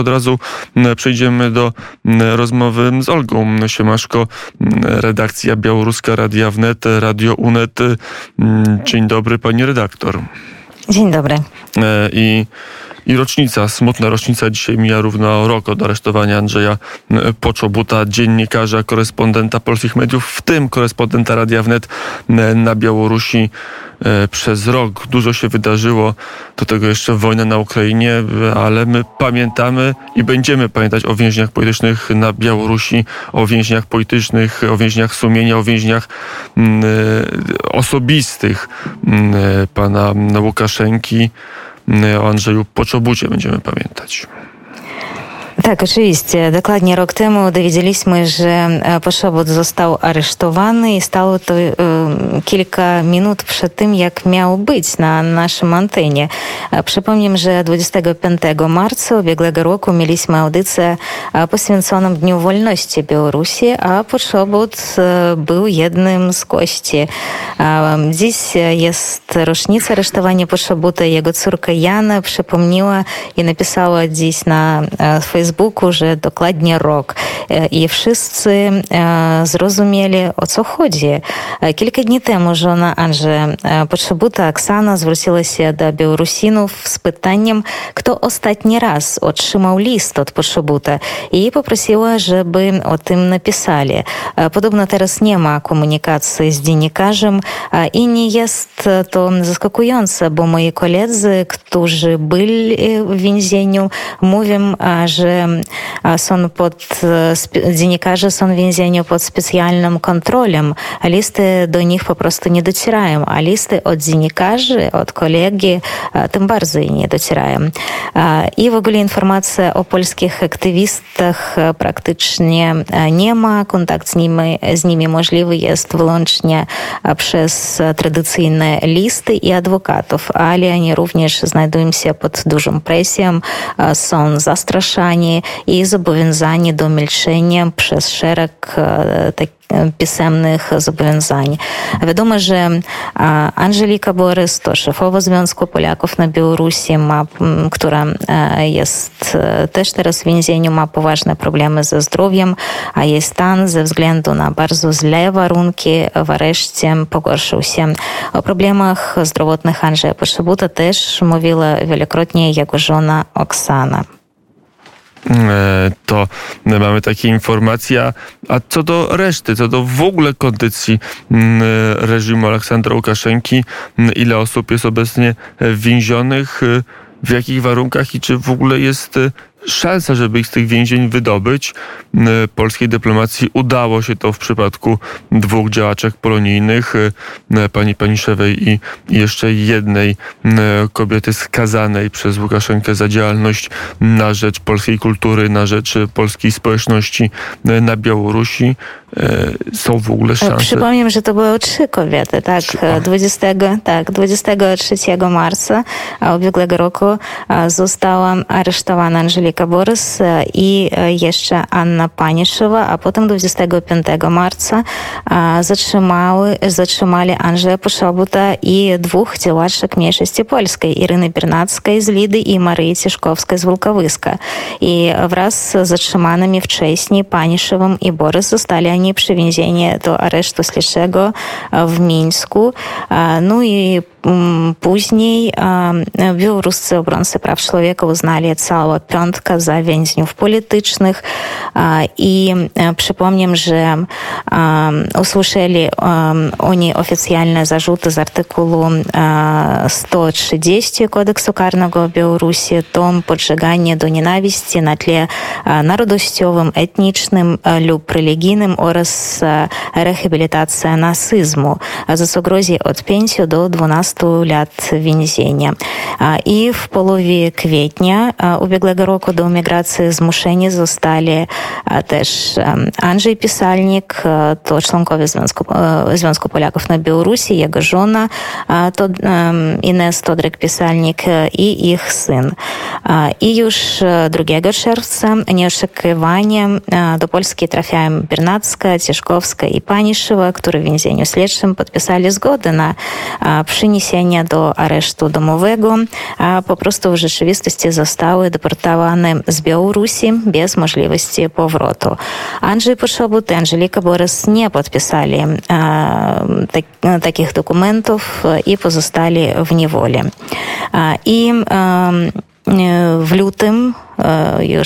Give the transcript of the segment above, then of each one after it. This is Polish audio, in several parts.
Od razu przejdziemy do rozmowy z Olgą Siemaszko, redakcja Białoruska Radia Wnet, Radio UNET. Dzień dobry, pani redaktor. Dzień dobry. I rocznica, smutna rocznica. Dzisiaj mija równo rok od aresztowania Andrzeja Poczobuta, dziennikarza, korespondenta polskich mediów, w tym korespondenta Radia Wnet na Białorusi. Przez rok dużo się wydarzyło, do tego jeszcze wojna na Ukrainie, ale my pamiętamy i będziemy pamiętać o więźniach politycznych na Białorusi, o więźniach politycznych, o więźniach sumienia, o więźniach osobistych pana Łukaszenki. O Andrzeju Poczobucie będziemy pamiętać. Tak, oczywiście. Dokładnie rok temu dowiedzieliśmy, że Poczobut został aresztowany i stało to kilka minut przed tym, jak miał być na naszym antenie. Przypomnę, że 25 marca ubiegłego roku mieliśmy audycję poświęconą Dniu Wolności Białorusi, a Poczobut był jednym z gości. Dziś jest rocznica aresztowania Poczobuta. Jego córka Jana przypomniała i napisała dziś na Facebooku, że dokładnie rok. I wszyscy zrozumieli, o co chodzi. Kilka dni temu żona Andrzeja Poczobuta, Oksana, zwróciła się do Białorusinów z pytaniem, kto ostatni raz otrzymał list od Poczobuta i poprosiła, żeby o tym napisali. Podobno teraz nie ma komunikacji z dziennikarzem i nie jest to zaskakujące, bo moi koledzy, którzy byli w więzieniu, mówią, że dziennikarze są w więzieniu pod specjalną kontrolą. Listy do nich po prostu nie docierają, a listy od dziennikarzy, od kolegi tym bardziej nie docierają. I w ogóle informacja o polskich aktywistach praktycznie nie ma. Kontakt z nimi możliwy jest wyłącznie przez tradycyjne listy i adwokatów, ale oni również znajdują się pod dużą presją, są zastraszani i zobowiązani do milczenia przez szereg pisemnych zobowiązań. Wiadomo, że Angelika Borys to szefowa Związku Polaków na Białorusi, która jest też teraz w więzieniu, ma poważne problemy ze zdrowiem, a jej stan ze względu na bardzo źle warunki w areszcie pogorszył się. O problemach zdrowotnych Andrzeja Poczobuta też mówiła wielokrotnie jego żona Oksana. To mamy takie informacje, a co do reszty, co do w ogóle kondycji reżimu Aleksandra Łukaszenki, ile osób jest obecnie więzionych, w jakich warunkach i czy w ogóle jest szansa, żeby ich z tych więzień wydobyć. Polskiej dyplomacji udało się to w przypadku dwóch działaczek polonijnych, pani Paniszewej i jeszcze jednej kobiety skazanej przez Łukaszenkę za działalność na rzecz polskiej kultury, na rzecz polskiej społeczności na Białorusi. Są w ogóle szanse? Przypomnę, że to były 3 kobiety, tak? 23 marca ubiegłego roku została aresztowana Angelika Borys i jeszcze Anna Paniszewa, a potem 25 marca zatrzymali Andrzeja Poczobuta i 2 działaczek mniejszości polskiej, Iryny Biernackiej z Lidy i Maryi Cieszkowskiej z Wilkowyska. I wraz z zatrzymanymi wcześniej Paniszewą i Borys zostali oni przywiezieni do aresztu śledczego w Mińsku. No i później białoruscy obrońcy praw człowieka uznali całą 5 za więźniów politycznych i przypomnę, że usłyszeli oni oficjalne zarzuty z artykułu 130 Kodeksu Karnego Białorusi, to podżeganie do nienawiści na tle narodowościowym, etnicznym lub religijnym oraz rehabilitacja nasyzmu, za co grozi od 5 do 12 lat więzienia. I w połowie kwietnia ubiegłego roku do emigracji zmuszeni zostali też Andrzej Pisalnik, to członkowie Związku Polaków na Białorusi, jego żona Ines Todryk-Pisalnik i ich syn. I już 2 czerwca nieoczekiwanie do Polski trafiają Biernacka, Cieszkowska i Paniszewa, które w więzieniu śledczym podpisali zgodę na przeniesienie doniesienia do aresztu domowego, a po prostu w rzeczywistości zostały deportowane z Białorusi bez możliwości powrotu. Andrzej Poczobut i Angelika Borys nie podpisali takich dokumentów i pozostali w niewoli. I w lutym już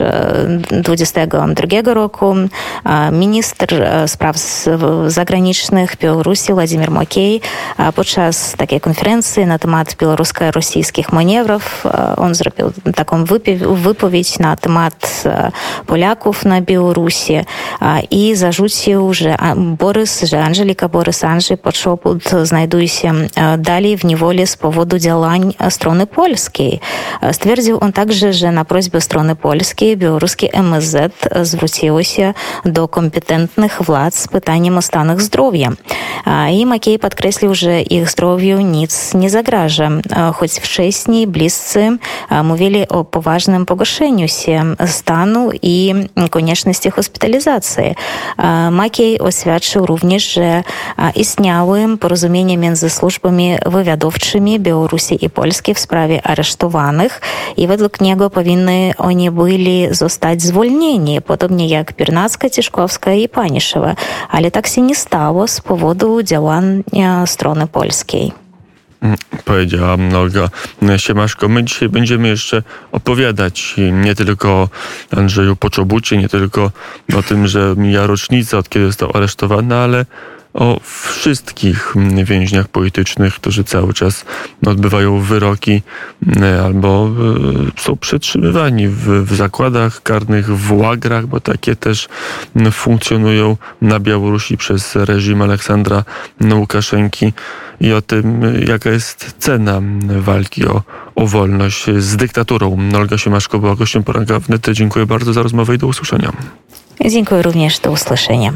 2022 roku minister spraw zagranicznych Białorusi Władimir Makej podczas takiej konferencji na temat białorusko-rosyjskich manewrów on zrobił taką wypowiedź na temat Polaków na Białorusi i zarzucił, że Angelika Borys, Andrzej Poczobut znajduje się dalej w niewoli z powodu działań strony polskiej. Stwierdził on także, że na prośbę strony polskiej białoruskie MSZ zwróciło się do kompetentnych władz z pytaniem o stan ich zdrowia. I Makej podkreślił, że ich zdrowiu nic nie zagraża, choć wcześniej bliscy mówili o poważnym pogorszeniu się stanu i konieczności hospitalizacji. Makej oświadczył również, że istniały porozumienia między służbami wywiadowczymi Białorusi i Polski w sprawie aresztowanych i według niego powinny oni byli zostać zwolnieni, podobnie jak Biernacka, Tiszkowska i Paniszewa, ale tak się nie stało z powodu działania strony polskiej. Powiedziała Olga Siemaszko. My dzisiaj będziemy jeszcze opowiadać nie tylko o Andrzeju Poczobucie, nie tylko o tym, że mija rocznica, od kiedy został aresztowany, ale o wszystkich więźniach politycznych, którzy cały czas odbywają wyroki albo są przetrzymywani w zakładach karnych, w łagrach, bo takie też funkcjonują na Białorusi przez reżim Aleksandra Łukaszenki i o tym, jaka jest cena walki o wolność z dyktaturą. Olga Siemaszko była gościem poranka wnet. Dziękuję bardzo za rozmowę i do usłyszenia. Dziękuję również, do usłyszenia.